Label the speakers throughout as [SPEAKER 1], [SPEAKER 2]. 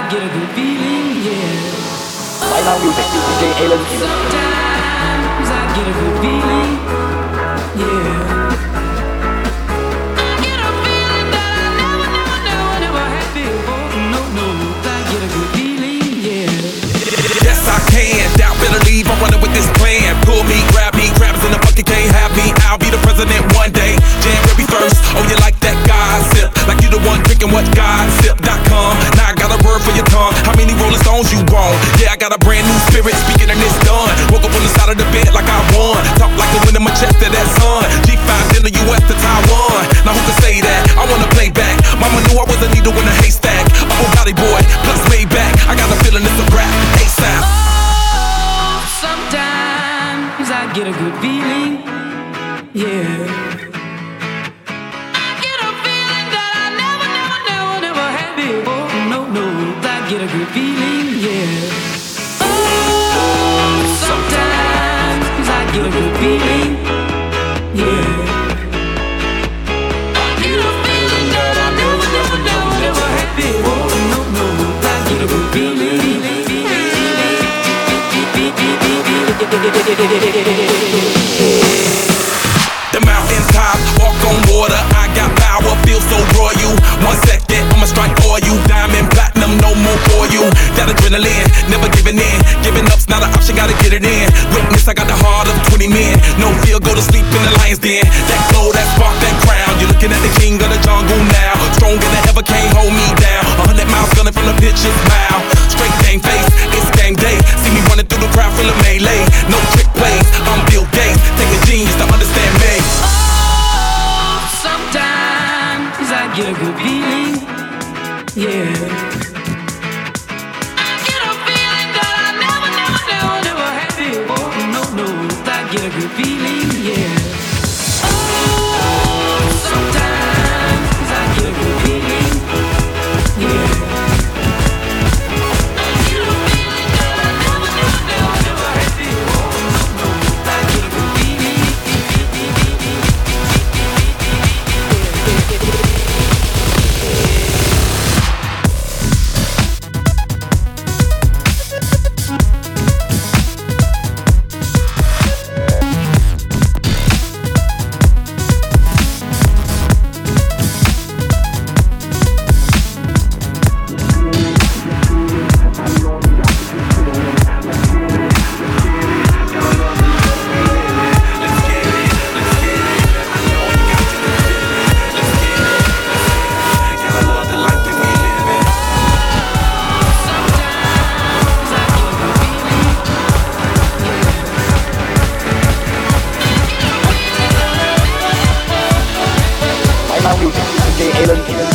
[SPEAKER 1] get a good feeling, yeah.
[SPEAKER 2] Right now music, DJ Alan Q.
[SPEAKER 1] Sometimes I get a good feeling, yeah. I get a feeling that I never had before. No, no, I get a good feeling, yeah.
[SPEAKER 3] Yes, I can. Doubt, better leave. I'm running with this plan. Pull me, grab me. Crabs in the bucket can't have me. I'll be the president one day. January 1st. Oh, you like that gossip? Like you the one drinking what gossip.com. Now I got a word for your tongue. How many Rolling Stones you want? Yeah, I got a brand new spirit speaking and it's done. Woke up on the side of the bed like I won. Talk like the wind in my chest to that sun. G5 in the US to Taiwan. Now who can say that? I wanna play back. Mama knew I was a needle in a haystack. Upper body boy, plus way back. I got a feeling it's a rap. ASAP.
[SPEAKER 1] Oh, sometimes I get a good feeling, yeah. I get a feeling that I never had before. No, no, I get a good feeling, yeah. Oh, sometimes I get a good feeling, yeah. I get a feeling that I never had before. No, no, I get a good feeling.
[SPEAKER 3] The mountain top, walk on water. I got power, feel so royal. 1 second, I'ma strike for you. Diamond, platinum, no more for you. That adrenaline, never giving in. Giving up's not an option, gotta get it in. Witness, I got the heart of 20 men. No fear, go to sleep in the lion's den. That glow, that spark, that crown. You're looking at the king of the jungle now. Stronger than ever, can't hold me down. 100 miles gunning from the pitcher's mouth. Straight game face, it's game day. See me running through the crowd, feel a melee. No trick plays, I'm Bill Gates. Take a genius to understand me.
[SPEAKER 1] Oh, sometimes I get a good feeling, yeah. I get a feeling that I never had before. No, no, I get a good feeling, yeah. Oh, sometimes I get a good feeling, yeah. I get a feeling that I never had before. No, no, I get a good feeling.
[SPEAKER 2] Right now music, DJ Alan Q.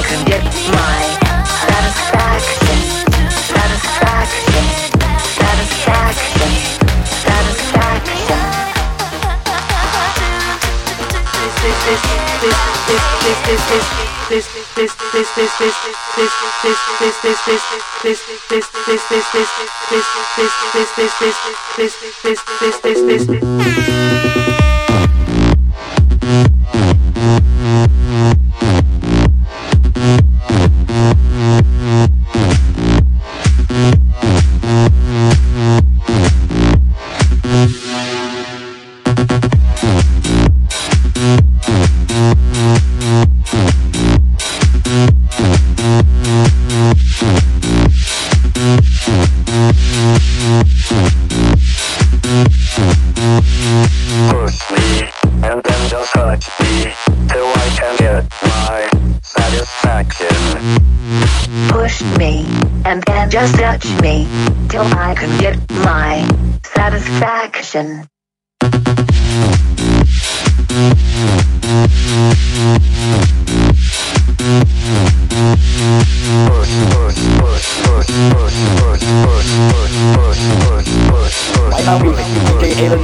[SPEAKER 4] can get my satisfaction, satisfaction, satisfaction, satisfaction. Push me, and then just touch me, till I can get my satisfaction.
[SPEAKER 2] Right now music, DJ Alan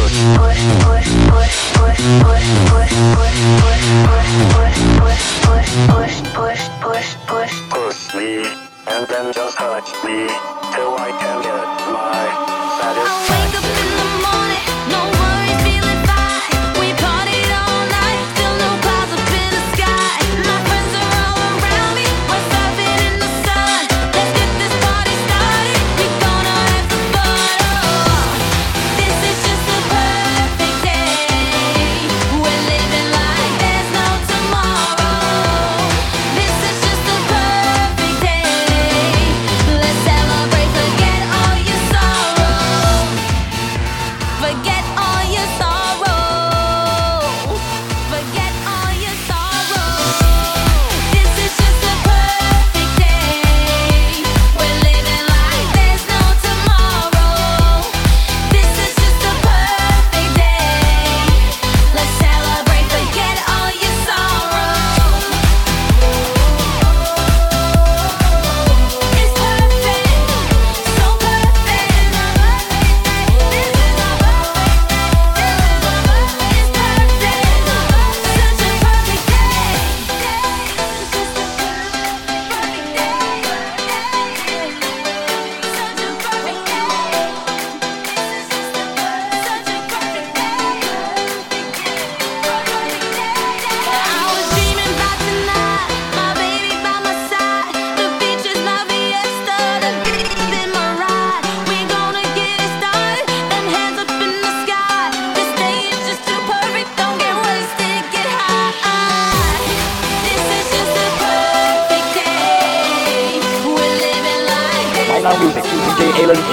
[SPEAKER 5] Push me, and then just touch me, till I can get my satisfaction.
[SPEAKER 6] Wake up in the morning, no worries, feeling fine. We partied all night, still no clouds up in the sky. My friends are all around me, we're surfing in the sun. Let's get this party started, we're gonna have some fun. Oh, this is just a perfect day. We're living like there's no tomorrow. This is just a perfect day. Let's celebrate, forget all your sorrow. Forget all your sorrow. Forget all your sorrow. This is just a perfect day. We're living like there's no tomorrow. This is just a perfect day. Let's celebrate, forget all your sorrow. It's perfect, so perfect. This is a perfect day. It's perfect, such a perfect day. It's just a perfect day. Such a perfect day. This is just such a perfect day. I was dreaming about tonight, my baby by my side. The beach is my fiesta, the beat in my ride. We're gonna get it started, then hands up in the sky. This day is just too perfect, don't get wasted, get high. This is just a perfect day. We're living like there's
[SPEAKER 2] Right now music, DJ Alan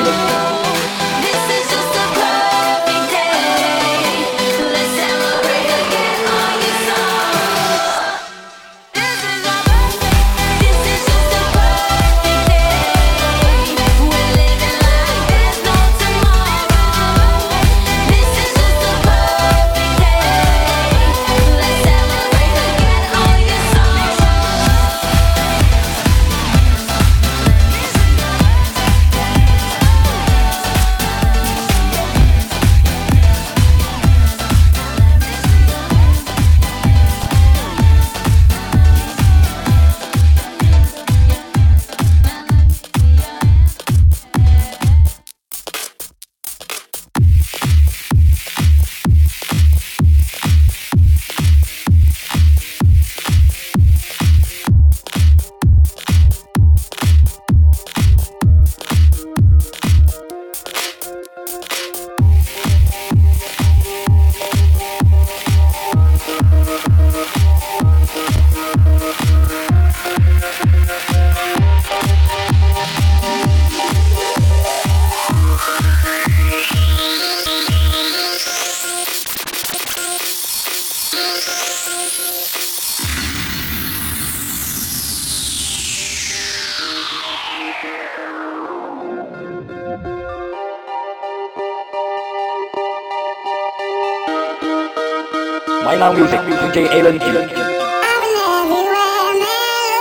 [SPEAKER 6] This is just a perfect day. Let's celebrate, forget all your sorrow. This is a perfect. This is just a perfect day. We're living like there's no tomorrow. This is just a perfect day. Let's celebrate, forget all your sorrow.
[SPEAKER 2] Right now music, DJ Alan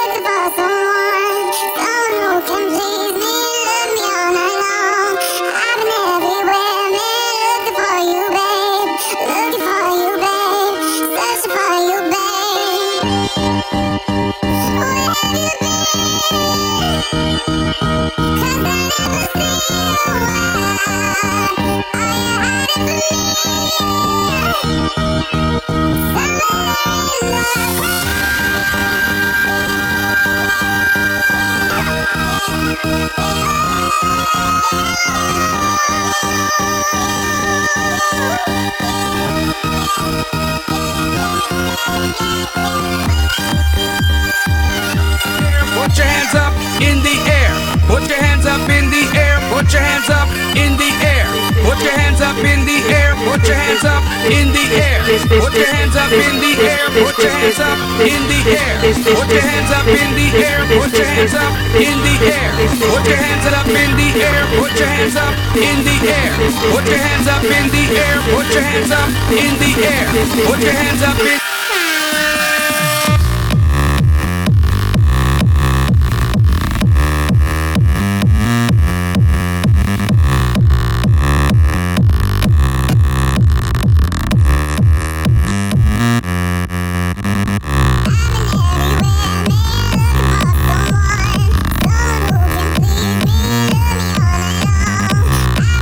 [SPEAKER 1] Put your hands up in the air. Put your hands up in the air. Put your hands up in the air. Put your hands up in the air. Put your hands up in the air. Put your hands up in the air. Put your hands up in the air. Put your hands up in the air. Put your hands up in the air. Put your hands up in the air. Put your hands up in the air. Put your hands up in the air. Put your hands up in the air. Put your hands up in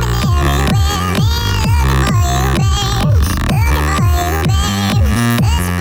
[SPEAKER 6] Looking for you, babe.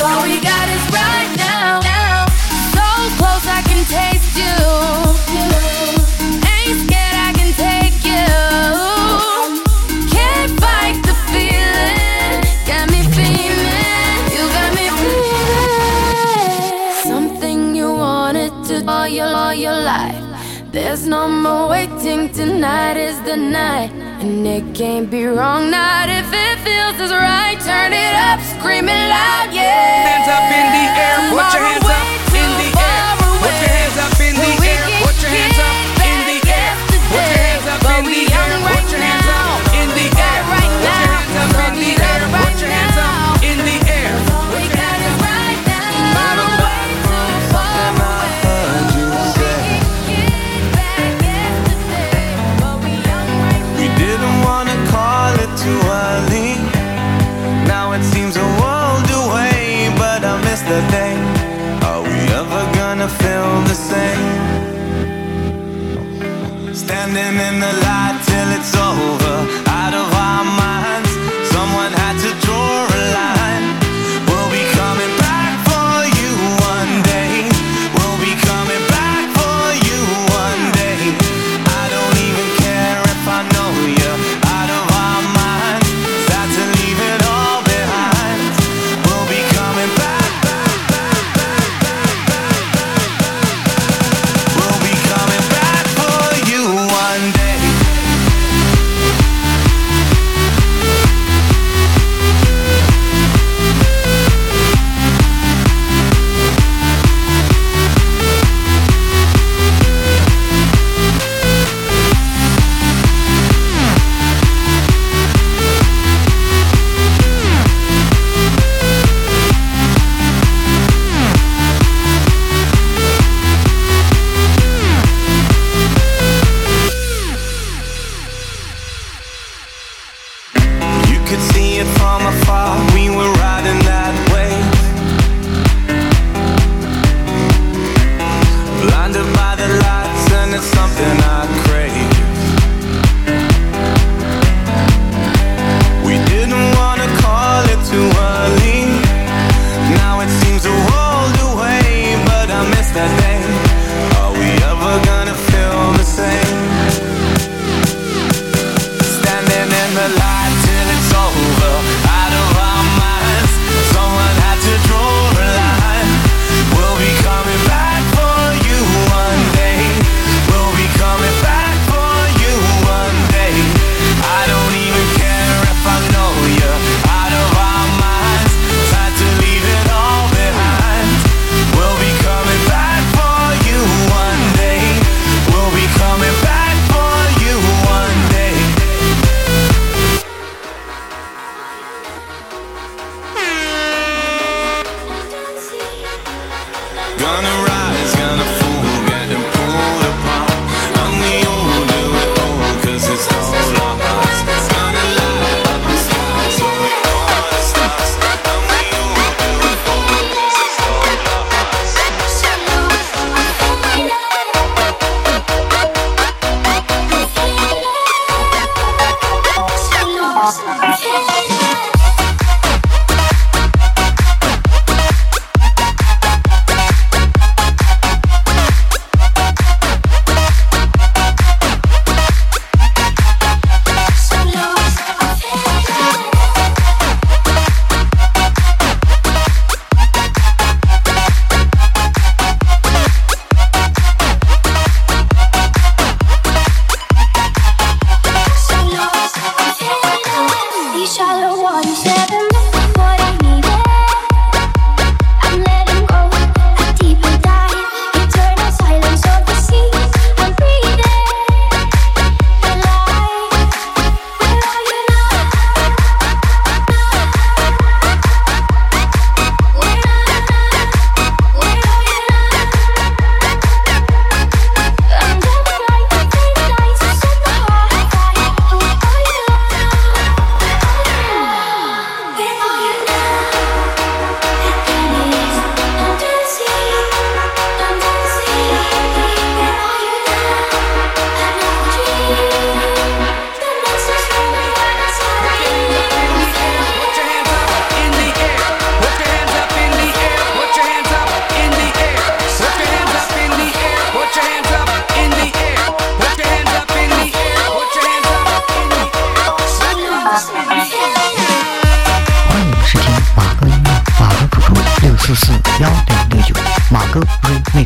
[SPEAKER 6] All we got is right now. So close I can taste you. Ain't scared I can take you. Can't fight the feeling. Got me feeling. You got me feeling. Something you wanted to all your life. There's no more waiting. Tonight is the night. And it can't be wrong, not if it feels is right. Turn it up, scream it loud, yeah.
[SPEAKER 3] Hands up in the air, put your hands up in the air. Put your hands up in the air, put your hands up in the air. Put your hands up in the air, put your hands up in the air. Put your hands up in the air, put your hands up in the air.
[SPEAKER 6] We got it right now. Not way too far away.
[SPEAKER 7] We didn't wanna call it too early. Now it seems a world away, but I miss the day. Are we ever gonna feel the same? Standing in the light till it's over, out of our minds. Someone had to draw a line. We'll be coming back for you one day. We'll be coming back for you one day. I don't even care if I know you. Out of our minds, sad to leave it all behind. We'll be coming back, back, back, back, back, back, back. We'll be coming back for you one day. You could see it from afar, we were riding that wave. Blinded by the lights and it's something I crave. We didn't wanna call it too early. Now it seems a world away, but I miss that day. Are we ever gonna feel the same? Standing in the light till it's over, out of our minds. Someone had to draw a line. We'll be coming back for you one day. We'll be coming back for you one day. I don't even care if I know you. Out of our minds, time to leave it all behind. We'll be coming back for you one day. We'll be coming back for you one day. Gonna rise, gonna fall, getting pulled apart. And we all do it all, 'cause it's all our hearts. Gonna light up the stars, so we all the stars. And we all do it all, 'cause it's all our hearts.
[SPEAKER 8] 441669马哥 Remix。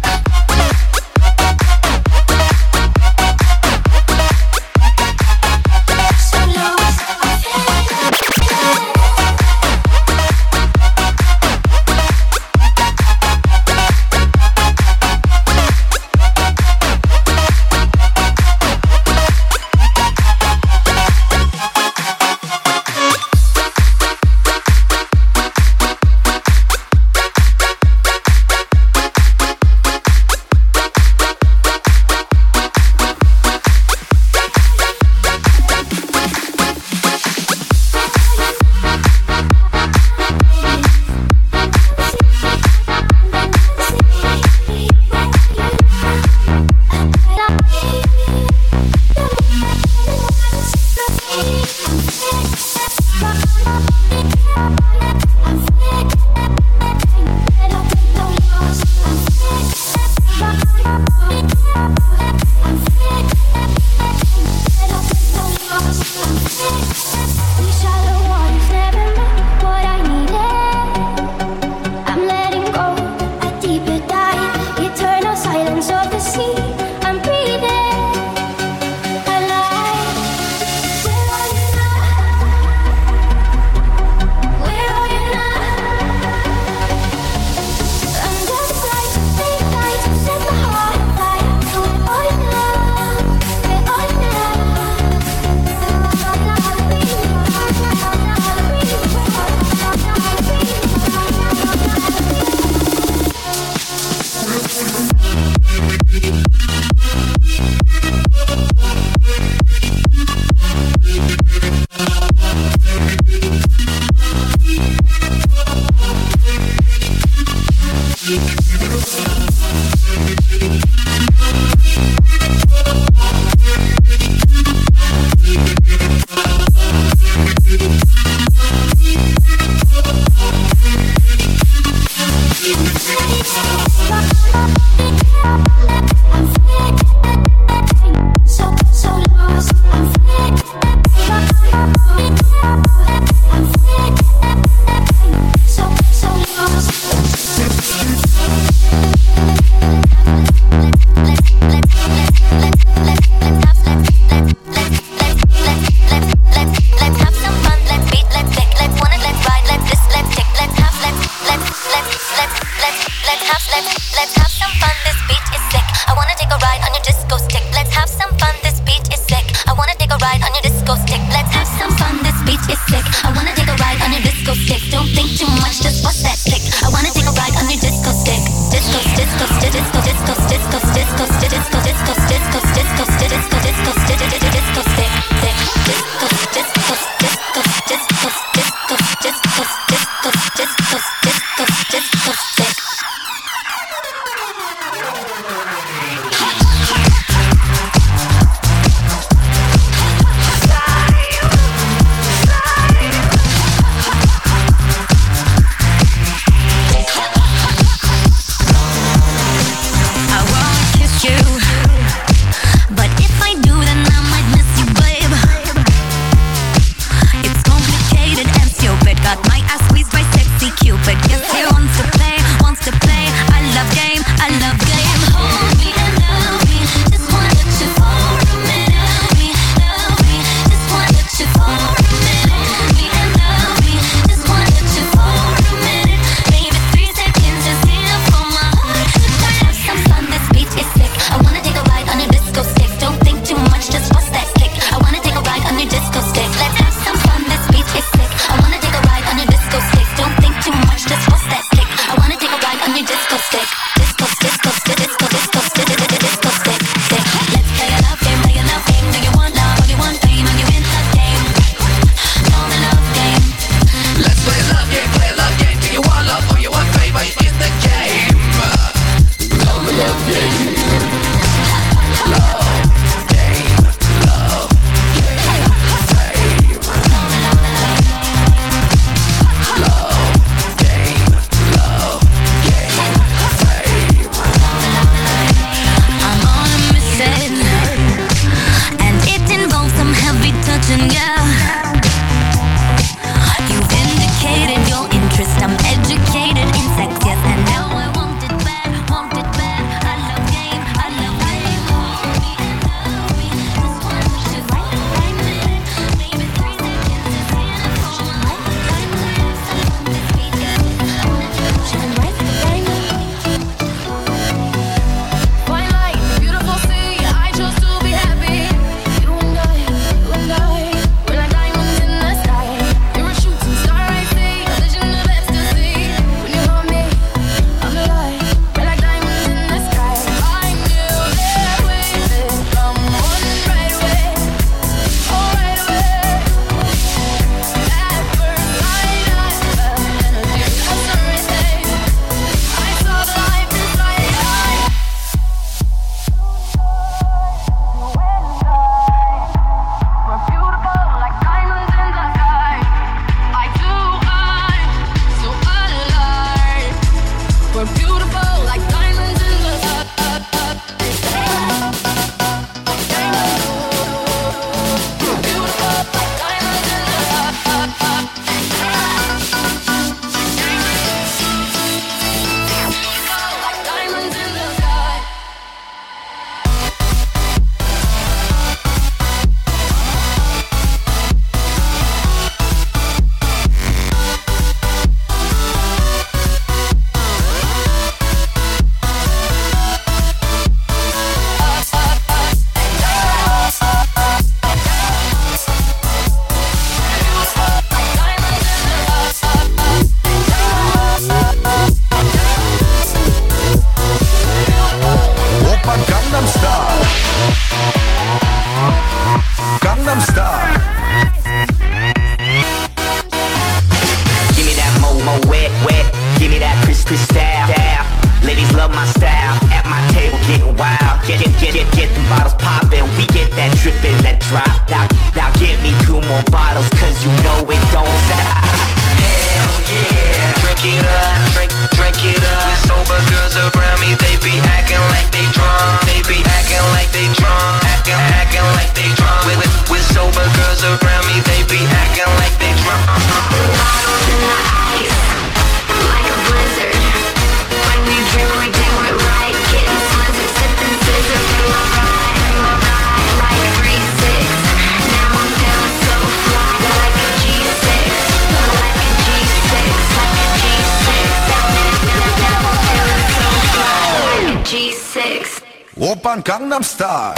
[SPEAKER 9] crystal. Ladies love my style. At my table getting wild. Get the bottles poppin'. We get that drippin', that drop. Now give me 2 more bottles, cause you know it don't stop. Hell yeah. Drink it up, drink it up. With sober girls around me, they be acting like they drunk. They be acting like they drunk. Acting like they drunk. With sober girls around me, they be acting like they drunk.
[SPEAKER 6] Bottles in the ice, like a blizzard. When we drink, we do it right. Getting slizzard, sipping scissor. Feel alright, like 3-6. Now I'm feeling so fly, like a G6. Like a G6, like a G6. Now I'm feeling so fly, like a G6.
[SPEAKER 7] 오빤 강남스타일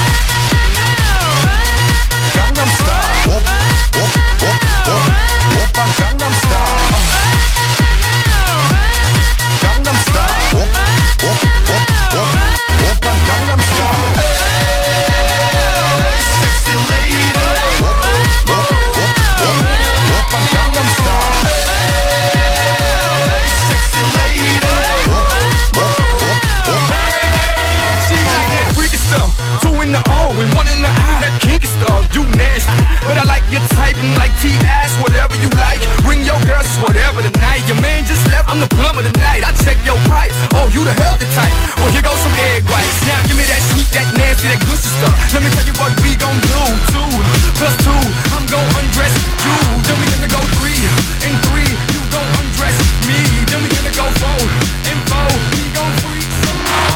[SPEAKER 7] 강남스타일 오빤 강남스타일 강남스타일 오빤 강남스타일 Sexy lady 오빤 강남스타일 Sexy lady Two in the O and 1 in the I. That kinky stuff, you nasty. But I like your type and like T-ass, whatever you like. Bring your girls, whatever tonight. Your man just left, I'm the plumber tonight. I check your price, oh, you the healthy type. Well, here goes some egg whites. Now give me that sweet, that nasty, that gushy stuff. Let me tell you what we gon' do. 2 plus 2, I'm gon' undress you. Then we gonna go 3 and 3, you gon' undress me. Then we gonna go 4 and 4, we gon' freak some more.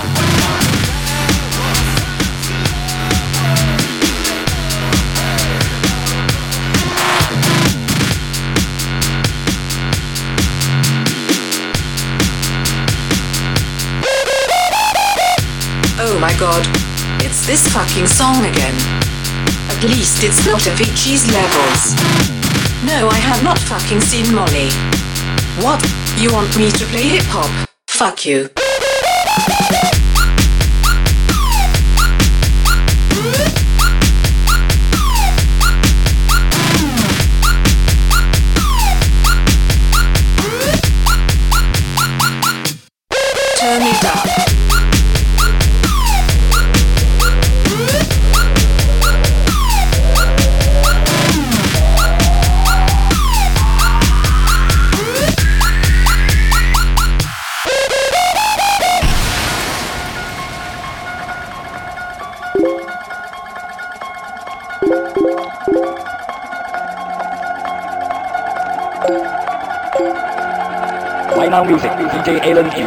[SPEAKER 10] Oh my god. It's this fucking song again. At least it's not Avicii's Levels. No, I have not fucking seen Molly. What? You want me to play hip hop? Fuck you. Turn it up.
[SPEAKER 2] Right now music, DJ Alan G.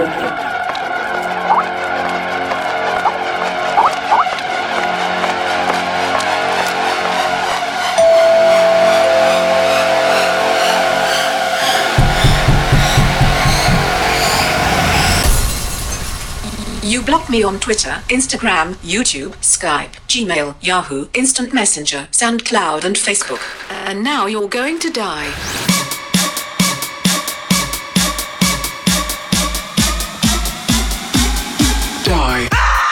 [SPEAKER 10] You blocked me on Twitter, Instagram, YouTube, Skype, Gmail, Yahoo, Instant Messenger, SoundCloud and Facebook. And now you're going to die. Die.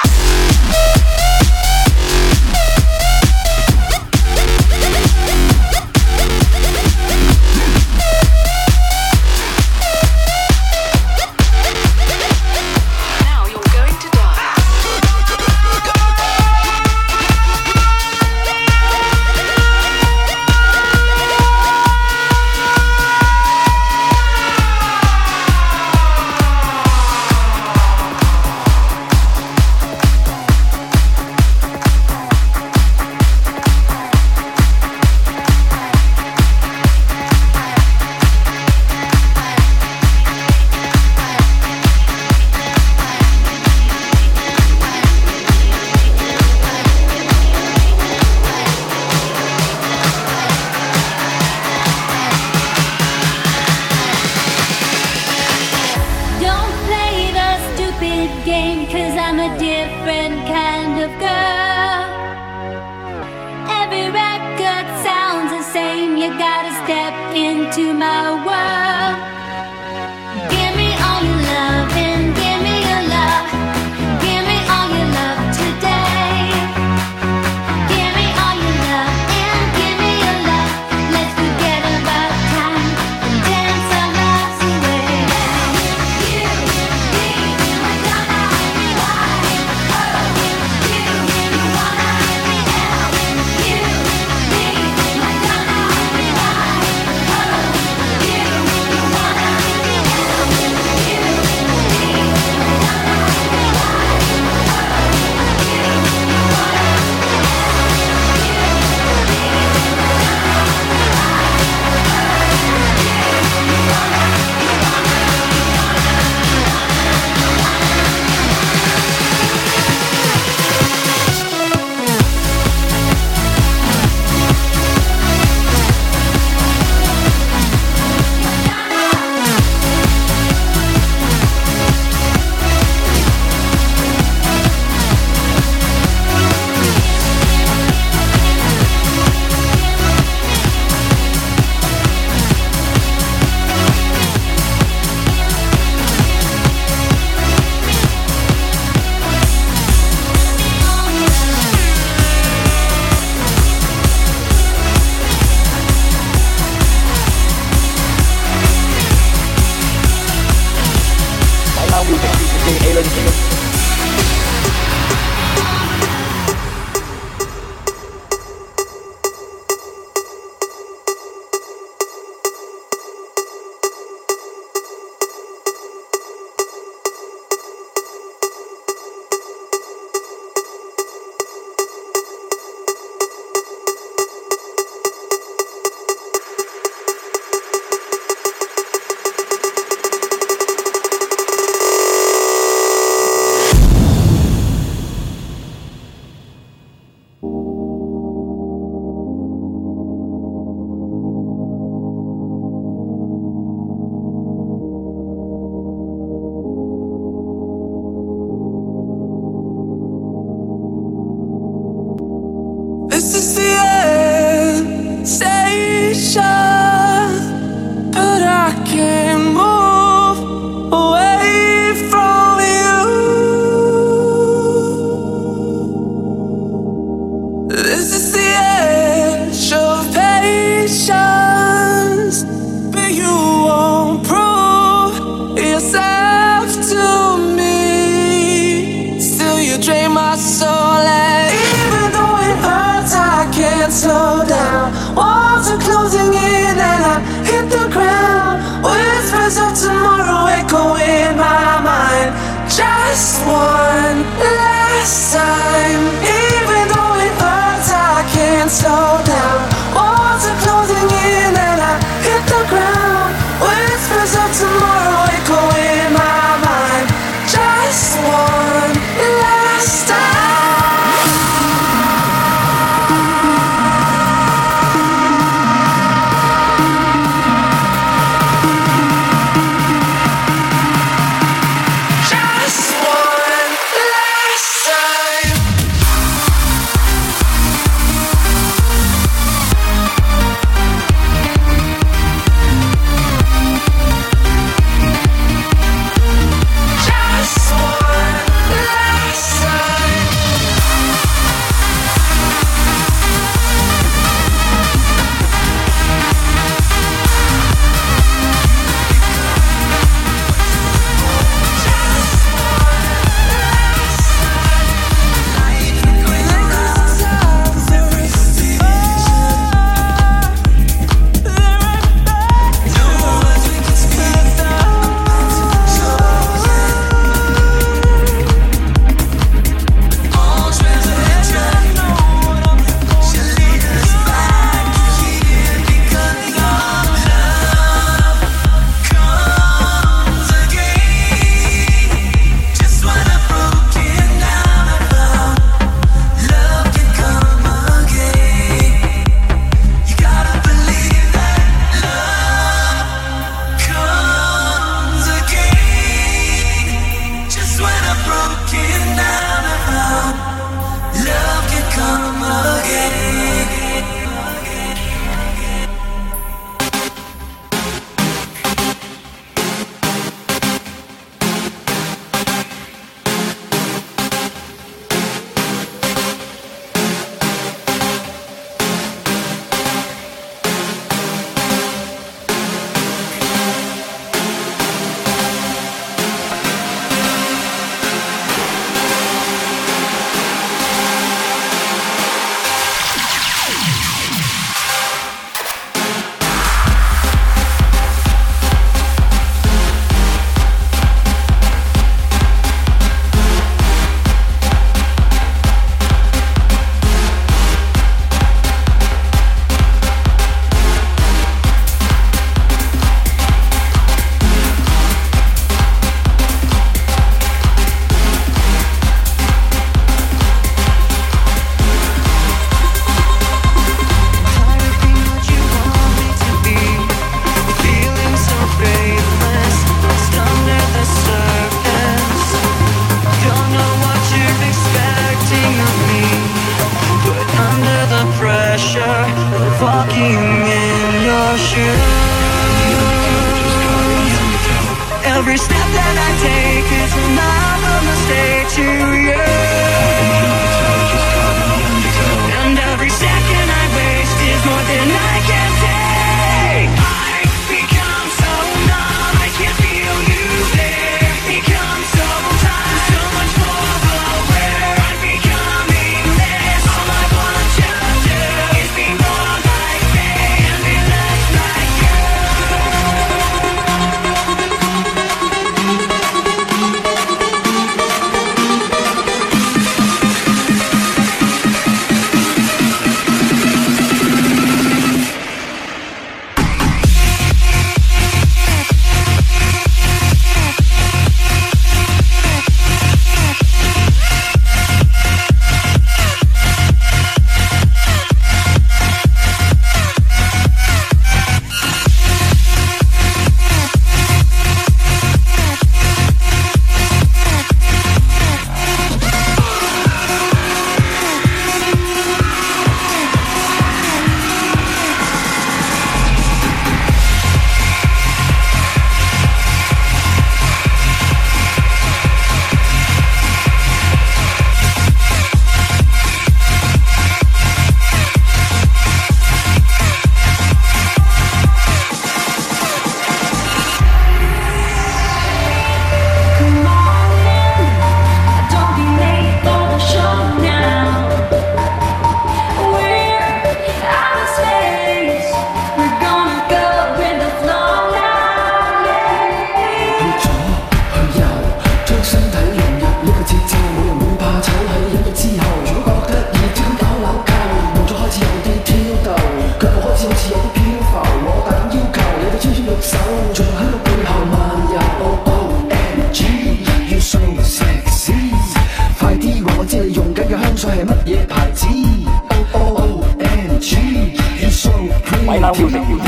[SPEAKER 6] into my world. Give me all your love and give me your love. Give me all your love today. Give me all your love and give me your love. Let's forget about time and dance our lives away. You
[SPEAKER 1] This is the end station, but I can't move away from you. This is the edge of patience, but you won't prove yourself to me. Still, you drain my soul, and even though it hurts, I can't slow down. Walls are closing in, and I hit the ground. Whispers of tomorrow echo in my mind. Just one last time. Even though it hurts, I can't slow down. Walls are closing in, and I hit the ground. Whispers of tomorrow echo in my mind. Just one last time. Just one last time.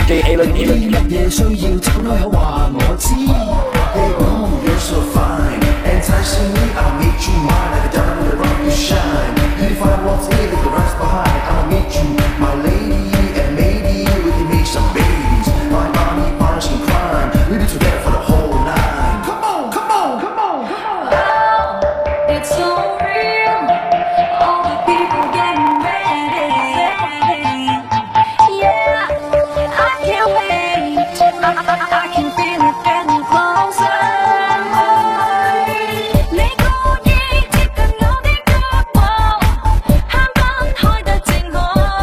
[SPEAKER 2] DJ Alan。
[SPEAKER 11] 乜嘢需要就開口話我知。Hey boo, you're so fine. Enticing me, I'll make you mine. Like a diamond in the rock you shine. Beautify what's in, leave the rest behind. I'll meet you, my lady, and maybe we can make some babies. My body, partners in crime. We'll be together for the whole night. Come on, come on, come on, come on.
[SPEAKER 6] It's so real. All the people getting ready. Yeah, I can't wait. I can feel it getting closer. 你故意貼近我的腳步，慳分開得正好。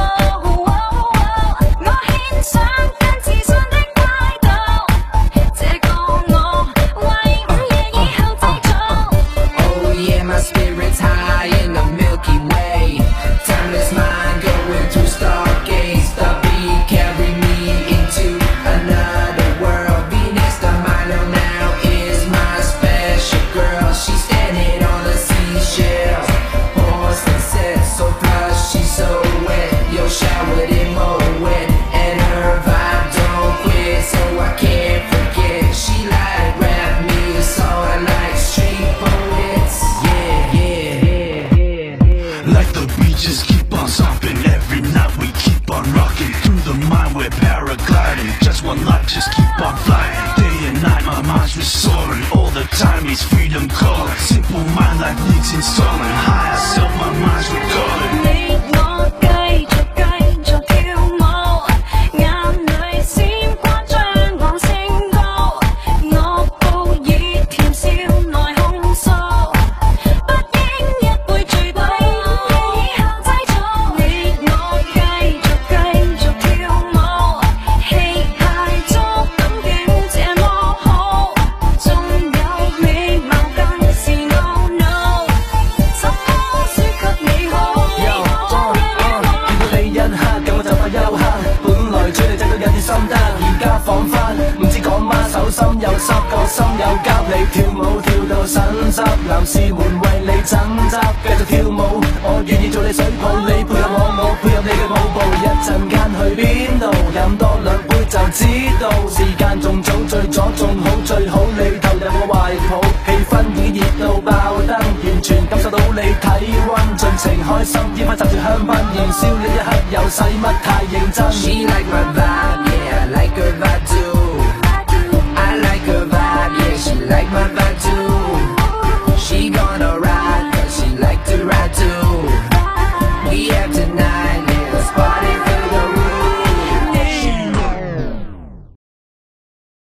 [SPEAKER 6] 我獻上更自信的態度，這個我為午夜以後製造。
[SPEAKER 1] Oh yeah, my spirit's high in the Milky Way. Timeless mind going through stargates. The beat carry me into another world. Venus de Milo now is my special girl. She's standing on the seashells. Porcelain set so flush, she's so wet. Yo, showered in wet, and her vibe don't quit, so I can't forget. She like rap music, so I like street poets. Yeah, yeah, yeah, yeah.
[SPEAKER 12] Like the beaches keep on stopping. Every night we keep on rocking. Through the mind we're paragliding. Just one life, just keep on flying. Day and night my mind's restoring. All the time is freedom calling. Simple mind like needs installing. Higher self my mind's recording.
[SPEAKER 6] 你我繼續跳舞，眼淚閃光將我升高，我報以甜笑來控訴，不應一杯醉倒，以後製造。你我繼續跳舞，氣械足感覺這麼好，仲有美貌更是 no no， 怎麼輸給你好？
[SPEAKER 11] 見到你一刻，咁我就快休克。本來追你仔都有啲心得，而家彷彿唔知講乜，手心又濕，個心又急。你跳舞跳到腎汁，男士們為你爭執，繼續跳舞，我願意做你水泡，你配合我，我配合你嘅舞步。一陣間去邊度？飲多兩杯就知道，時間仲早，醉咗仲好，最好你投入我懷抱，氣氛已熱到爆燈，完全感受到你體溫，盡情開心，煙花插住香檳，燃燒呢一刻又使乜太認真？
[SPEAKER 1] She like my vibe, yeah, I like her vibe